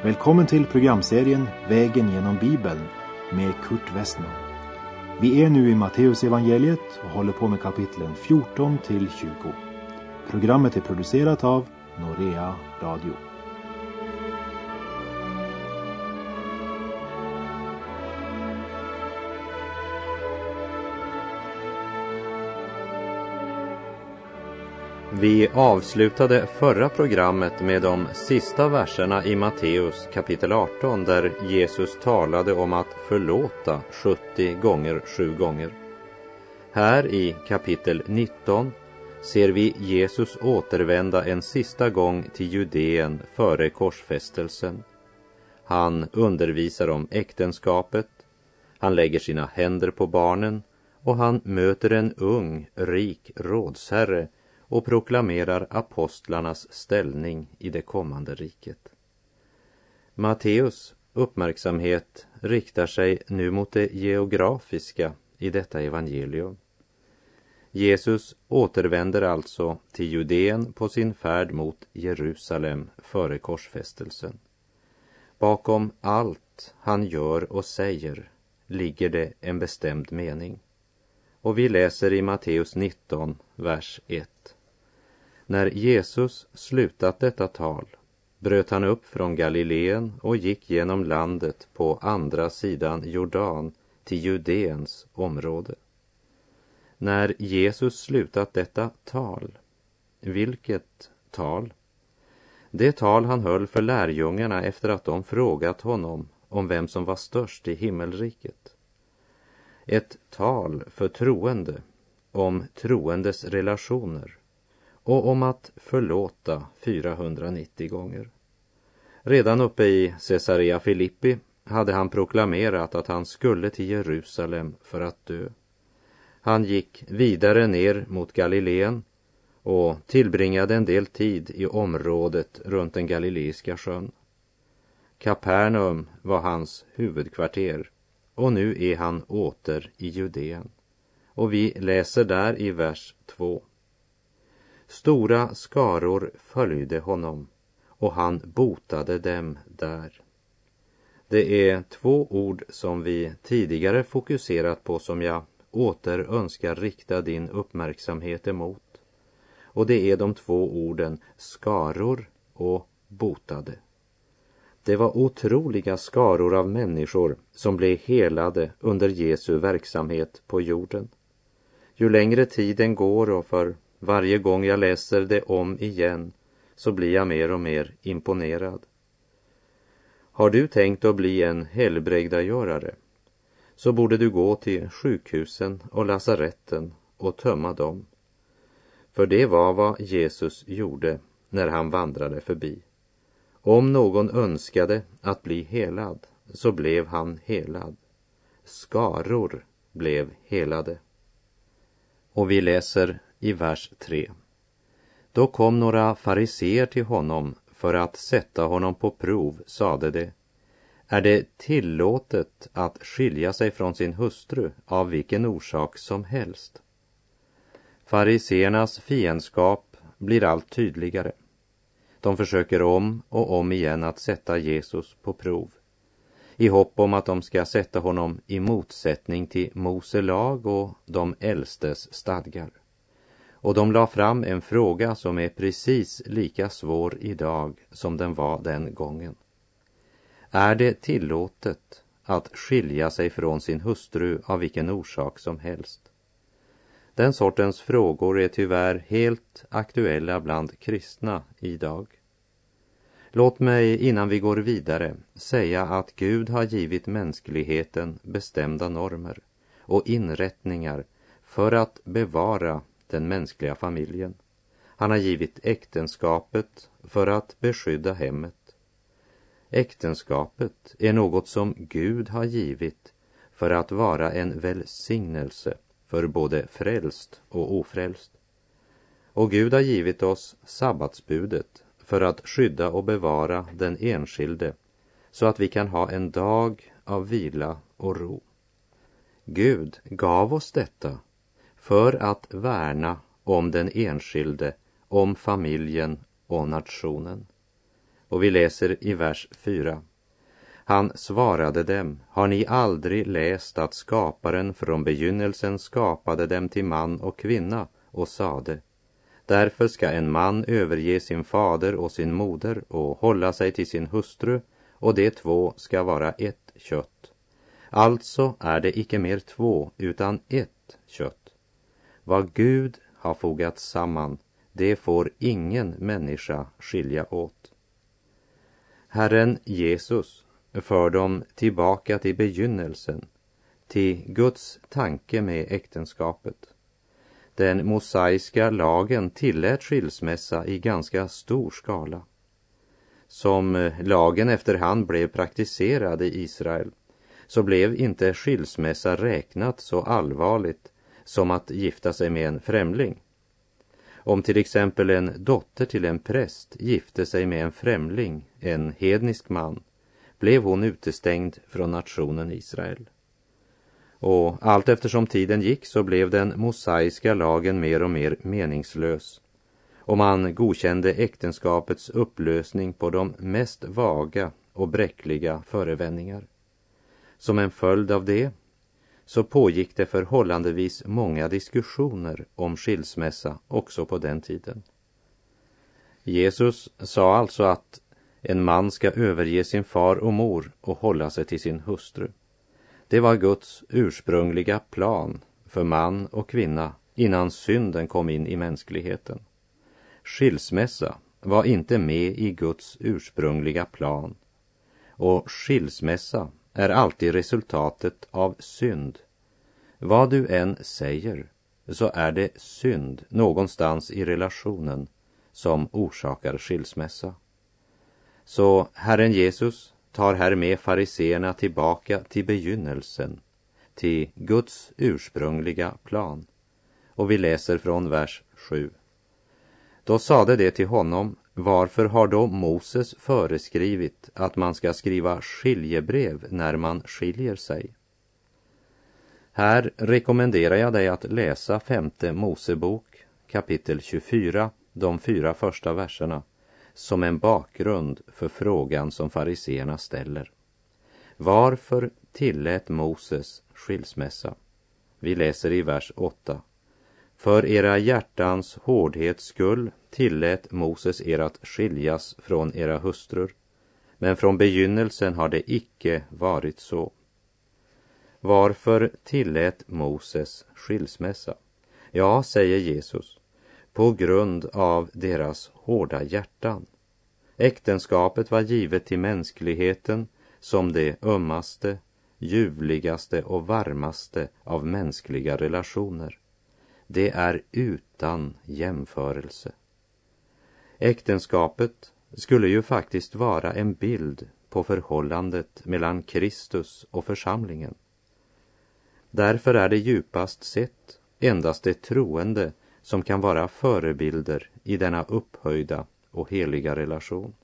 Välkommen till programserien Vägen genom Bibeln med Kurt Westman. Vi är nu i Matteus evangeliet och håller på med kapitlen 14 till 20. Programmet är producerat av Norea Radio. Vi avslutade förra programmet med de sista verserna i Matteus kapitel 18 där Jesus talade om att förlåta 70 gånger 7 gånger. Här i kapitel 19 ser vi Jesus återvända en sista gång till Judeen före korsfästelsen. Han undervisar om äktenskapet, han lägger sina händer på barnen och han möter en ung, rik rådsherre och proklamerar apostlarnas ställning i det kommande riket. Matteus uppmärksamhet riktar sig nu mot det geografiska i detta evangelium. Jesus återvänder alltså till Judeen på sin färd mot Jerusalem före korsfästelsen. Bakom allt han gör och säger ligger det en bestämd mening. Och vi läser i Matteus 19, vers 1. När Jesus slutat detta tal bröt han upp från Galileen och gick genom landet på andra sidan Jordan till Judeens område. När Jesus slutat detta tal, vilket tal? Det tal han höll för lärjungarna efter att de frågat honom om vem som var störst i himmelriket. Ett tal för troende, om troendes relationer och om att förlåta 490 gånger. Redan uppe i Caesarea Filippi hade han proklamerat att han skulle till Jerusalem för att dö. Han gick vidare ner mot Galileen och tillbringade en del tid i området runt den galileiska sjön. Kapernaum var hans huvudkvarter och nu är han åter i Judeen. Och vi läser där i vers 2. Stora skaror följde honom och han botade dem där. Det är 2 ord som vi tidigare fokuserat på som jag åter önskar rikta din uppmärksamhet emot. Och det är de 2 orden skaror och botade. Det var otroliga skaror av människor som blev helade under Jesu verksamhet på jorden. Ju längre tiden går och för varje gång jag läser det om igen så blir jag mer och mer imponerad. Har du tänkt att bli en helbrägdagörare så borde du gå till sjukhusen och lasaretten och tömma dem. För det var vad Jesus gjorde när han vandrade förbi. Om någon önskade att bli helad så blev han helad. Skaror blev helade. Och vi läser i vers 3. Då kom några fariseer till honom för att sätta honom på prov, sade de: är det tillåtet att skilja sig från sin hustru av vilken orsak som helst? Fariseernas fiendskap blir allt tydligare. De försöker om och om igen att sätta Jesus på prov, i hopp om att de ska sätta honom i motsättning till Mose lag och de äldstes stadgar. Och de la fram en fråga som är precis lika svår idag som den var den gången. Är det tillåtet att skilja sig från sin hustru av vilken orsak som helst? Den sortens frågor är tyvärr helt aktuella bland kristna idag. Låt mig innan vi går vidare säga att Gud har givit mänskligheten bestämda normer och inrättningar för att bevara den mänskliga familjen. Han har givit äktenskapet för att beskydda hemmet. Äktenskapet är något som Gud har givit för att vara en välsignelse för både frälst och ofrälst. Och Gud har givit oss sabbatsbudet för att skydda och bevara den enskilde så att vi kan ha en dag av vila och ro. Gud gav oss detta för att värna om den enskilde, om familjen och nationen. Och vi läser i vers 4. Han svarade dem: har ni aldrig läst att skaparen från begynnelsen skapade dem till man och kvinna och sade: därför ska en man överge sin fader och sin moder och hålla sig till sin hustru, och de två ska vara ett kött. Alltså är det icke mer två utan ett kött. Vad Gud har fogat samman, det får ingen människa skilja åt. Herren Jesus för dem tillbaka till begynnelsen, till Guds tanke med äktenskapet. Den mosaiska lagen tillät skilsmässa i ganska stor skala. Som lagen efterhand blev praktiserad i Israel, så blev inte skilsmässa räknat så allvarligt som att gifta sig med en främling. Om till exempel en dotter till en präst gifte sig med en främling, en hednisk man, blev hon utestängd från nationen Israel. Och allt eftersom tiden gick så blev den mosaiska lagen mer och mer meningslös, och man godkände äktenskapets upplösning på de mest vaga och bräckliga förevändningar. Som en följd av det så pågick det förhållandevis många diskussioner om skilsmässa också på den tiden. Jesus sa alltså att en man ska överge sin far och mor och hålla sig till sin hustru. Det var Guds ursprungliga plan för man och kvinna innan synden kom in i mänskligheten. Skilsmässa var inte med i Guds ursprungliga plan, och skilsmässa är alltid resultatet av synd. Vad du än säger så är det synd någonstans i relationen som orsakar skilsmässa. Så Herren Jesus tar här med fariseerna tillbaka till begynnelsen, till Guds ursprungliga plan. Och vi läser från vers 7. Då sade det till honom: varför har då Moses föreskrivit att man ska skriva skiljebrev när man skiljer sig? Här rekommenderar jag dig att läsa 5:e Mosebok kapitel 24, de 4 första verserna, som en bakgrund för frågan som fariseerna ställer. Varför tillät Moses skilsmässa? Vi läser i vers 8. För era hjärtans hårdhets skull tillät Moses er att skiljas från era hustrur, men från begynnelsen har det icke varit så. Varför tillät Moses skilsmässa? Ja, säger Jesus, på grund av deras hårda hjärtan. Äktenskapet var givet till mänskligheten som det ömmaste, ljuvligaste och varmaste av mänskliga relationer. Det är utan jämförelse. Äktenskapet skulle ju faktiskt vara en bild på förhållandet mellan Kristus och församlingen. Därför är det djupast sett endast det troende som kan vara förebilder i denna upphöjda och heliga relation.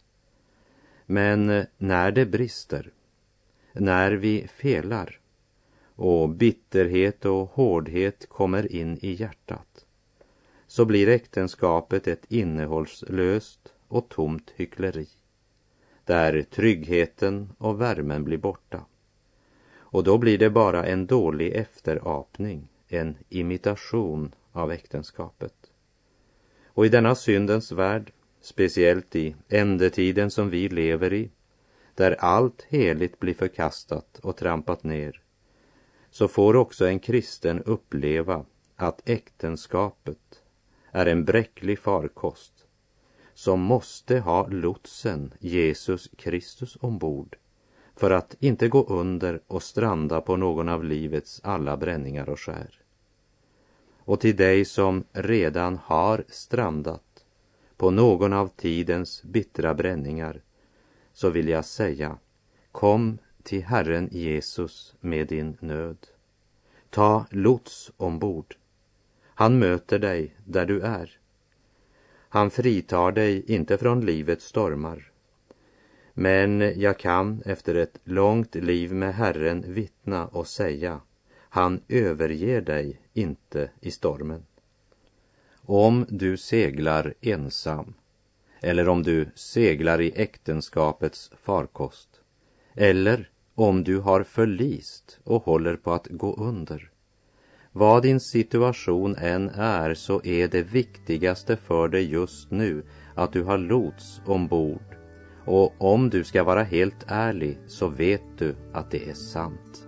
Men när det brister, när vi felar och bitterhet och hårdhet kommer in i hjärtat, så blir äktenskapet ett innehållslöst och tomt hyckleri, där tryggheten och värmen blir borta. Och då blir det bara en dålig efterapning, en imitation av äktenskapet. Och i denna syndens värld, speciellt i ändetiden som vi lever i, där allt heligt blir förkastat och trampat ner, så får också en kristen uppleva att äktenskapet är en bräcklig farkost som måste ha lotsen Jesus Kristus ombord för att inte gå under och stranda på någon av livets alla bränningar och skär. Och till dig som redan har strandat på någon av tidens bittra bränningar, så vill jag säga: kom till Herren Jesus med din nöd. Ta lots ombord. Han möter dig där du är. Han fritar dig inte från livets stormar. Men jag kan efter ett långt liv med Herren vittna och säga: han överger dig inte i stormen. Om du seglar ensam eller om du seglar i äktenskapets farkost, eller om du har förlist och håller på att gå under. Vad din situation än är, så är det viktigaste för dig just nu att du har lots ombord. Och om du ska vara helt ärlig, så vet du att det är sant.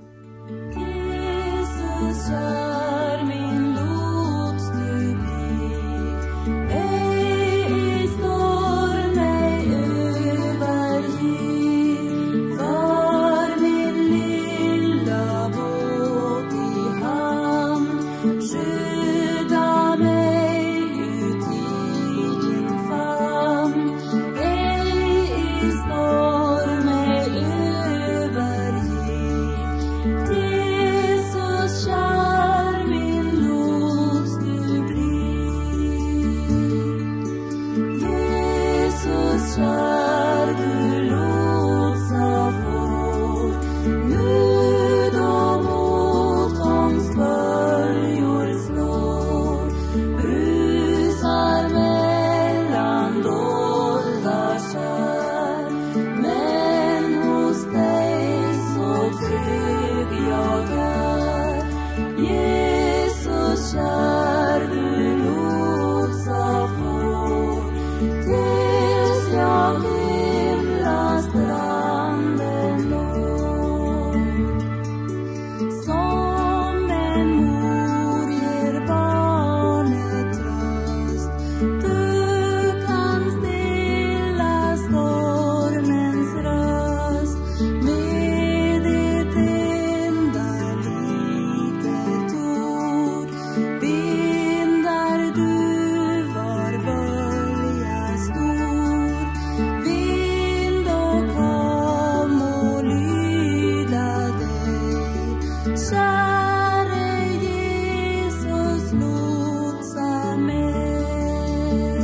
Jesus är min lots du blir, ej i storm mig överge. För min lilla båt i hamn, skydda mig ut i din famn, ej i storm mig överge. Jesus kär min lots du blir, Jesus kär du lotsa får, nu då motgångs böljor slår, brusar mellan dolda skär, men hos dig så trygg jag är. Jesus kär du lotsa får, tills jag himlastranden når. Som en mor ger barnet tröst, du kan stilla stormens röst med ett enda litet ord. Bindar du var bölja stor, vind och hav må lyda dig. Käre Jesus, lotsa mig.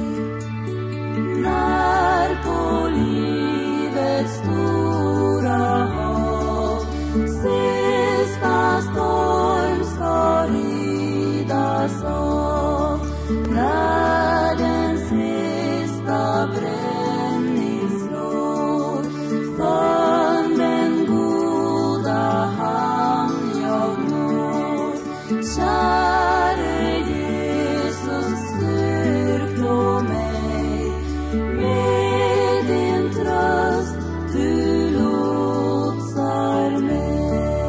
När på livets stora hav sista storm ska ridas av, när den sista bränning slår, för den goda hamn jag når. Käre Jesus, styrk då mig med din tröst, du lotsar mig.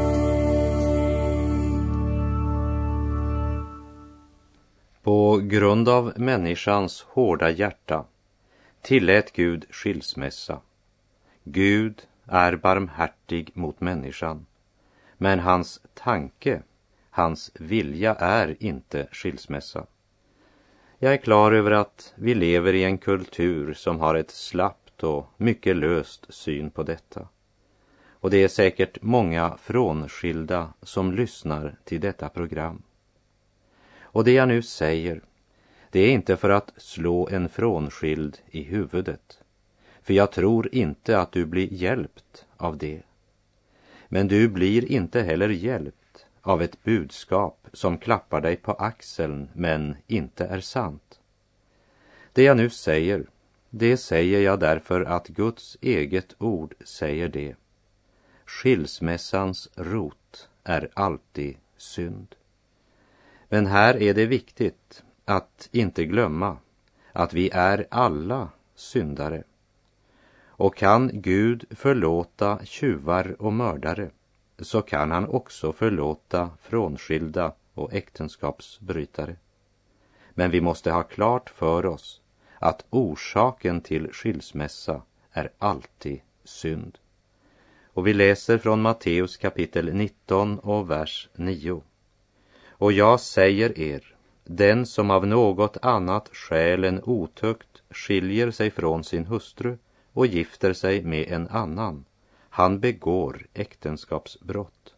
På grund av människans hårda hjärta tillät Gud skilsmässa. Gud är barmhärtig mot människan, men hans tanke, hans vilja är inte skilsmässa. Jag är klar över att vi lever i en kultur som har ett slappt och mycket löst syn på detta. Och det är säkert många frånskilda som lyssnar till detta program. Och det jag nu säger, det är inte för att slå en frånskild i huvudet. För jag tror inte att du blir hjälpt av det. Men du blir inte heller hjälpt av ett budskap som klappar dig på axeln men inte är sant. Det jag nu säger, det säger jag därför att Guds eget ord säger det. Skilsmässans rot är alltid synd. Men här är det viktigt att inte glömma att vi är alla syndare. Och kan Gud förlåta tjuvar och mördare, så kan han också förlåta frånskilda och äktenskapsbrytare. Men vi måste ha klart för oss att orsaken till skilsmässa är alltid synd. Och vi läser från Matteus kapitel 19 och vers 9. Och jag säger er, den som av något annat skäl än otukt skiljer sig från sin hustru och gifter sig med en annan, han begår äktenskapsbrott.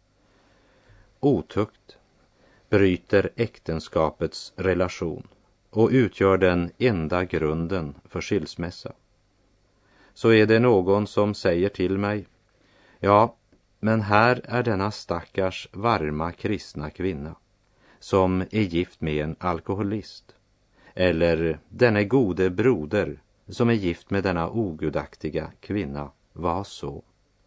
Otukt bryter äktenskapets relation och utgör den enda grunden för skilsmässa. Så är det någon som säger till mig, ja, men här är denna stackars varma kristna kvinna som är gift med en alkoholist. Eller denne gode broder som är gift med denna ogudaktiga kvinna var så.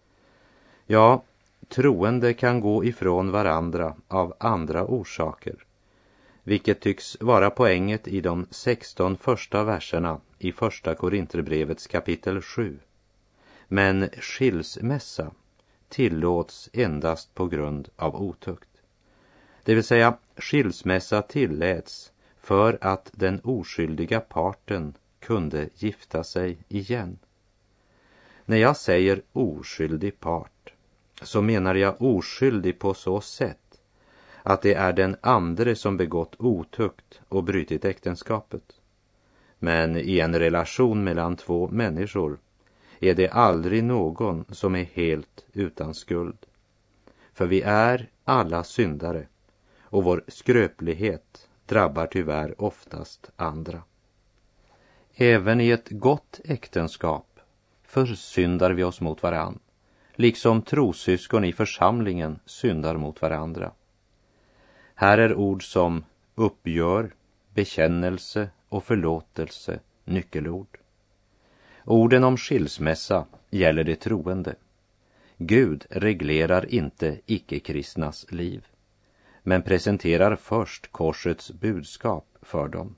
Ja, troende kan gå ifrån varandra av andra orsaker, vilket tycks vara poänget i de 16 första verserna i första Korinterbrevets kapitel 7. Men skilsmässa tillåts endast på grund av otukt. Det vill säga, skilsmässa tilläts för att den oskyldiga parten kunde gifta sig igen. När jag säger oskyldig part så menar jag oskyldig på så sätt att det är den andre som begått otukt och brutit äktenskapet. Men i en relation mellan två människor är det aldrig någon som är helt utan skuld. För vi är alla syndare och vår skröplighet drabbar tyvärr oftast andra. Även i ett gott äktenskap försyndar vi oss mot varann, liksom trossyskon i församlingen syndar mot varandra. Här är ord som uppgör, bekännelse och förlåtelse nyckelord. Orden om skilsmässa gäller det troende. Gud reglerar inte icke-kristnas liv, men presenterar först korsets budskap för dem.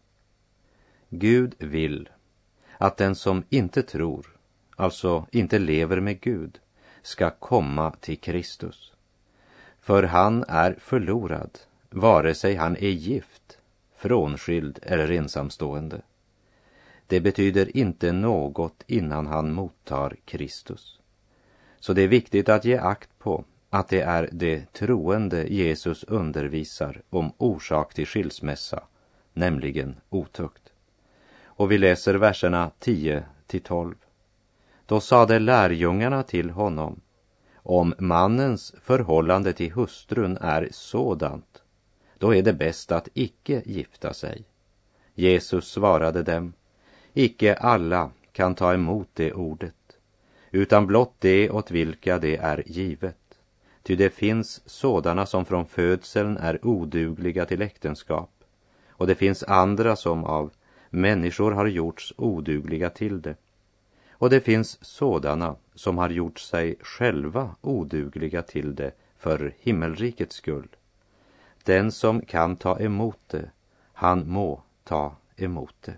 Gud vill att den som inte tror, alltså inte lever med Gud, ska komma till Kristus. För han är förlorad, vare sig han är gift, frånskild eller ensamstående. Det betyder inte något innan han mottar Kristus. Så det är viktigt att ge akt på att det är det troende Jesus undervisar om orsak till skilsmässa, nämligen otukt. Och vi läser verserna 10-12. Då sade lärjungarna till honom: om mannens förhållande till hustrun är sådant, då är det bäst att icke gifta sig. Jesus svarade dem: icke alla kan ta emot det ordet, utan blott det åt vilka det är givet. Ty det finns sådana som från födseln är odugliga till äktenskap, och det finns andra som av människor har gjorts odugliga till det. Och det finns sådana som har gjort sig själva odugliga till det för himmelrikets skull. Den som kan ta emot det, han må ta emot det.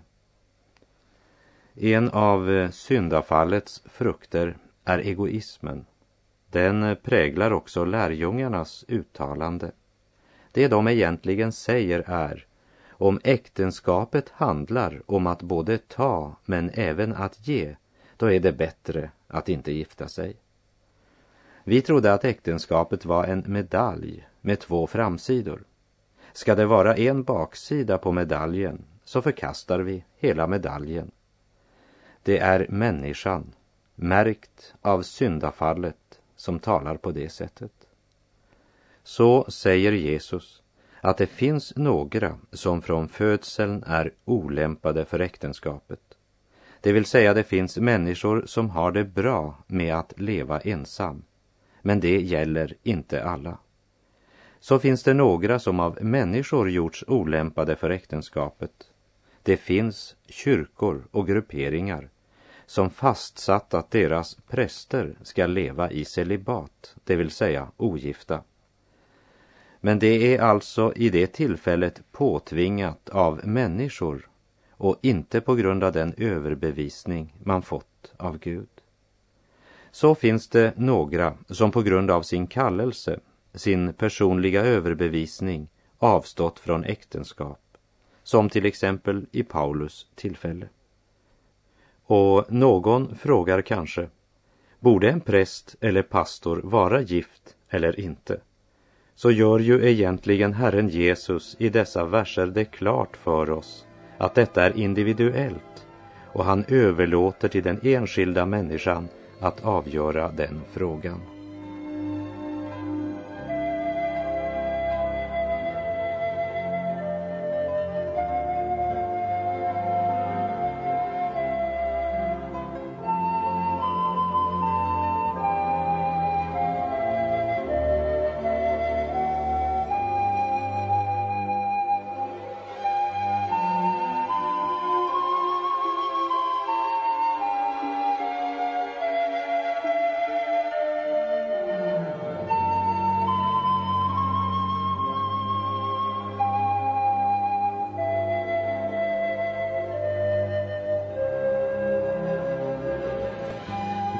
En av syndafallets frukter är egoismen. Den präglar också lärjungarnas uttalande. Det de egentligen säger är: om äktenskapet handlar om att både ta men även att ge, då är det bättre att inte gifta sig. Vi trodde att äktenskapet var en medalj med 2 framsidor. Ska det vara en baksida på medaljen, så förkastar vi hela medaljen. Det är människan, märkt av syndafallet, som talar på det sättet. Så säger Jesus att det finns några som från födseln är olämpade för äktenskapet. Det vill säga, det finns människor som har det bra med att leva ensam, men det gäller inte alla. Så finns det några som av människor gjorts olämpade för äktenskapet. Det finns kyrkor och grupperingar som fastsatt att deras präster ska leva i celibat, det vill säga ogifta. Men det är alltså i det tillfället påtvingat av människor och inte på grund av den överbevisning man fått av Gud. Så finns det några som på grund av sin kallelse, sin personliga överbevisning, avstått från äktenskap, som till exempel i Paulus tillfälle. Och någon frågar kanske: borde en präst eller pastor vara gift eller inte? Så gör ju egentligen Herren Jesus i dessa verser det klart för oss att detta är individuellt, och han överlåter till den enskilda människan att avgöra den frågan.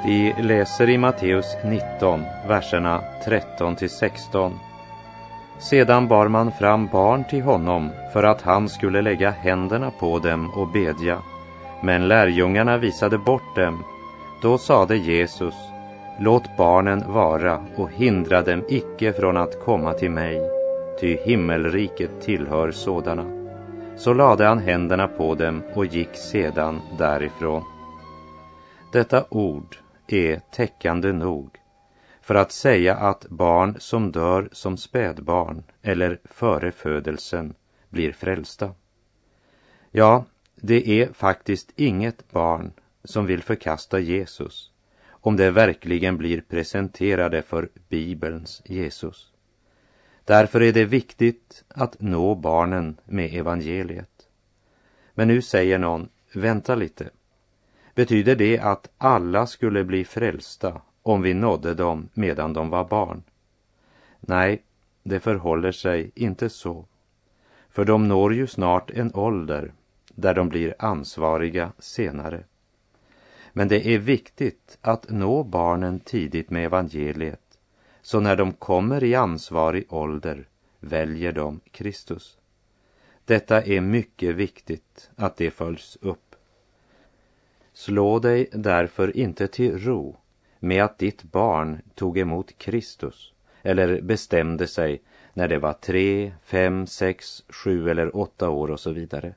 Vi läser i Matteus 19, verserna 13-16. Sedan bar man fram barn till honom för att han skulle lägga händerna på dem och bedja. Men lärjungarna visade bort dem. Då sade Jesus: låt barnen vara och hindra dem icke från att komma till mig, ty himmelriket tillhör sådana. Så lade han händerna på dem och gick sedan därifrån. Detta ord är täckande nog för att säga att barn som dör som spädbarn eller före födelsen blir frälsta. Ja, det är faktiskt inget barn som vill förkasta Jesus om det verkligen blir presenterade för Bibelns Jesus. Därför är det viktigt att nå barnen med evangeliet. Men nu säger någon: vänta lite. Betyder det att alla skulle bli frälsta om vi nådde dem medan de var barn? Nej, det förhåller sig inte så. För de når ju snart en ålder där de blir ansvariga senare. Men det är viktigt att nå barnen tidigt med evangeliet, så när de kommer i ansvarig ålder väljer de Kristus. Detta är mycket viktigt att det följs upp. Slå dig därför inte till ro med att ditt barn tog emot Kristus eller bestämde sig när det var 3, 5, 6, 7 eller 8 år och så vidare.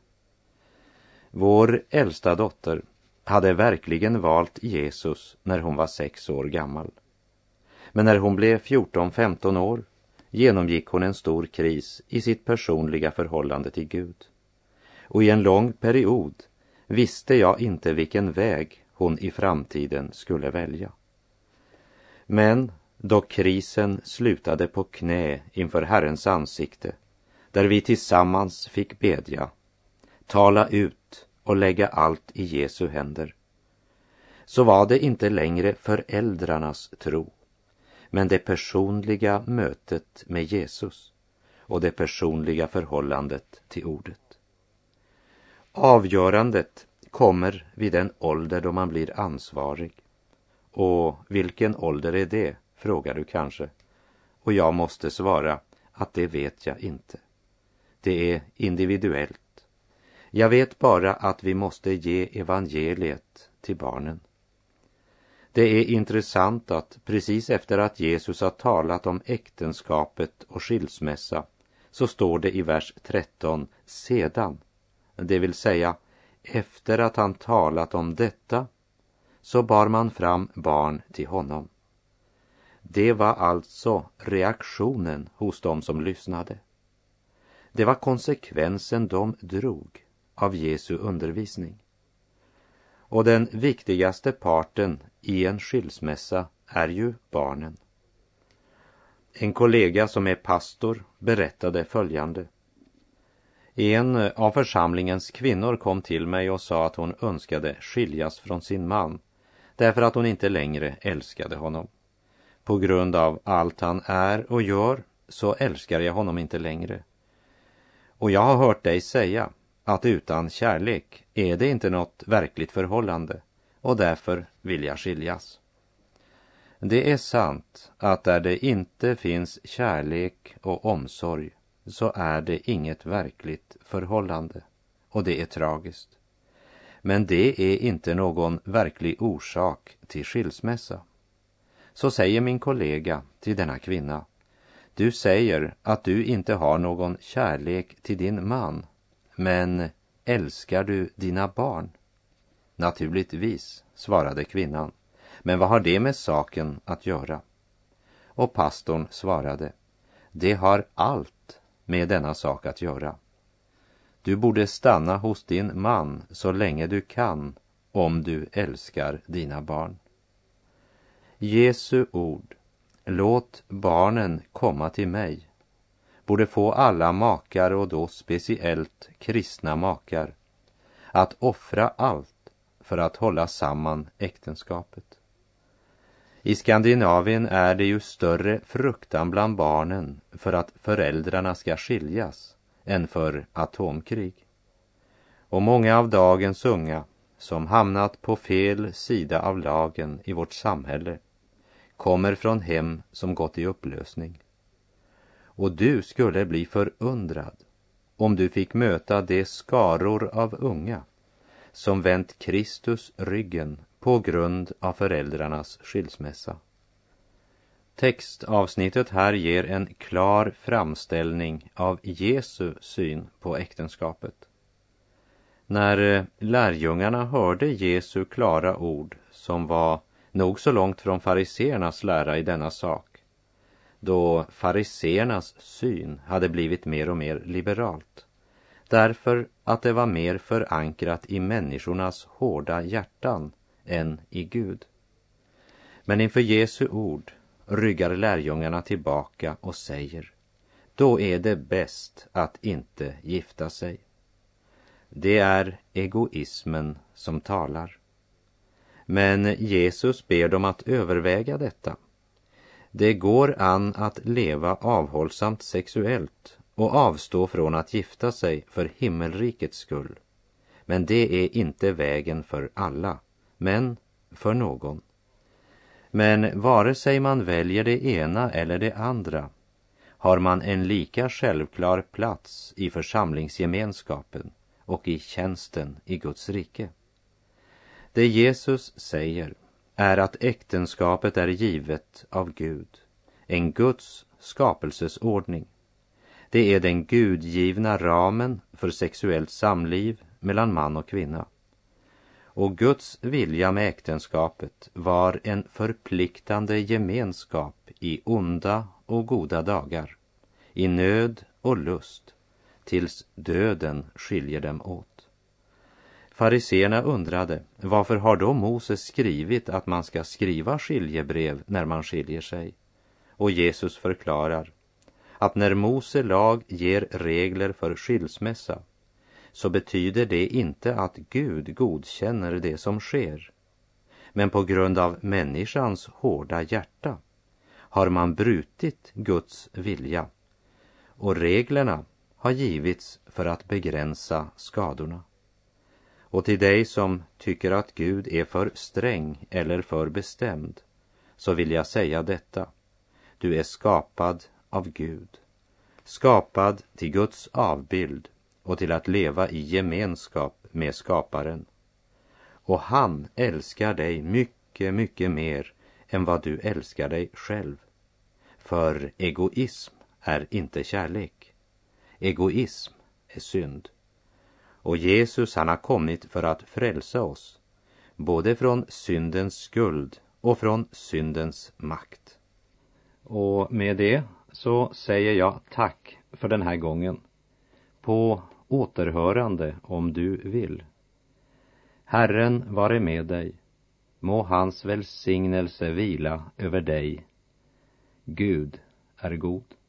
Vår äldsta dotter hade verkligen valt Jesus när hon var 6 år gammal. Men när hon blev 14-15 år genomgick hon en stor kris i sitt personliga förhållande till Gud. Och i en lång period visste jag inte vilken väg hon i framtiden skulle välja. Men då krisen slutade på knä inför Herrens ansikte, där vi tillsammans fick bedja, tala ut och lägga allt i Jesu händer, så var det inte längre föräldrarnas tro, men det personliga mötet med Jesus och det personliga förhållandet till ordet. Avgörandet kommer vid den ålder då man blir ansvarig. Och vilken ålder är det, frågar du kanske. Och jag måste svara att det vet jag inte. Det är individuellt. Jag vet bara att vi måste ge evangeliet till barnen. Det är intressant att precis efter att Jesus har talat om äktenskapet och skilsmässa, så står det i vers 13 sedan. Det vill säga, efter att han talat om detta, så bar man fram barn till honom. Det var alltså reaktionen hos dem som lyssnade. Det var konsekvensen de drog av Jesu undervisning. Och den viktigaste parten i en skilsmässa är ju barnen. En kollega som är pastor berättade följande. En av församlingens kvinnor kom till mig och sa att hon önskade skiljas från sin man därför att hon inte längre älskade honom. På grund av allt han är och gör så älskar jag honom inte längre. Och jag har hört dig säga att utan kärlek är det inte något verkligt förhållande och därför vill jag skiljas. Det är sant att där det inte finns kärlek och omsorg så är det inget verkligt förhållande, och det är tragiskt. Men det är inte någon verklig orsak till skilsmässa. Så säger min kollega till denna kvinna: du säger att du inte har någon kärlek till din man, men älskar du dina barn? Naturligtvis, svarade kvinnan, men vad har det med saken att göra? Och pastorn svarade: det har allt med denna sak att göra. Du borde stanna hos din man så länge du kan, om du älskar dina barn. Jesu ord, låt barnen komma till mig, borde få alla makar, och då speciellt kristna makar, att offra allt för att hålla samman äktenskapet. I Skandinavien är det ju större fruktan bland barnen för att föräldrarna ska skiljas än för atomkrig. Och många av dagens unga som hamnat på fel sida av lagen i vårt samhälle kommer från hem som gått i upplösning. Och du skulle bli förundrad om du fick möta de skaror av unga som vänt Kristus ryggen på grund av föräldrarnas skilsmässa. Textavsnittet här ger en klar framställning av Jesu syn på äktenskapet. När lärjungarna hörde Jesu klara ord, som var nog så långt från fariseernas lära i denna sak, då fariseernas syn hade blivit mer och mer liberalt, därför att det var mer förankrat i människornas hårda hjärtan än i Gud. Men inför Jesu ord ryggar lärjungarna tillbaka och säger: då är det bäst att inte gifta sig. Det är egoismen som talar. Men Jesus ber dem att överväga detta. Det går an att leva avhållsamt sexuellt och avstå från att gifta sig för himmelrikets skull. Men det är inte vägen för alla, men för någon. Men vare sig man väljer det ena eller det andra, har man en lika självklar plats i församlingsgemenskapen och i tjänsten i Guds rike. Det Jesus säger är att äktenskapet är givet av Gud, en Guds skapelsesordning. Det är den gudgivna ramen för sexuellt samliv mellan man och kvinna. Och Guds vilja med äktenskapet var en förpliktande gemenskap i onda och goda dagar, i nöd och lust, tills döden skiljer dem åt. Fariseerna undrade, varför har då Moses skrivit att man ska skriva skiljebrev när man skiljer sig? Och Jesus förklarar att när Mose lag ger regler för skilsmässa, så betyder det inte att Gud godkänner det som sker. Men på grund av människans hårda hjärta har man brutit Guds vilja, och reglerna har givits för att begränsa skadorna. Och till dig som tycker att Gud är för sträng eller för bestämd, så vill jag säga detta: du är skapad av Gud, skapad till Guds avbild och till att leva i gemenskap med skaparen. Och han älskar dig mycket, mycket mer än vad du älskar dig själv. För egoism är inte kärlek. Egoism är synd. Och Jesus, han har kommit för att frälsa oss, både från syndens skuld och från syndens makt. Och med det så säger jag tack för den här gången. På återhörande om du vill. Herren vare med dig. Må hans välsignelse vila över dig. Gud är god.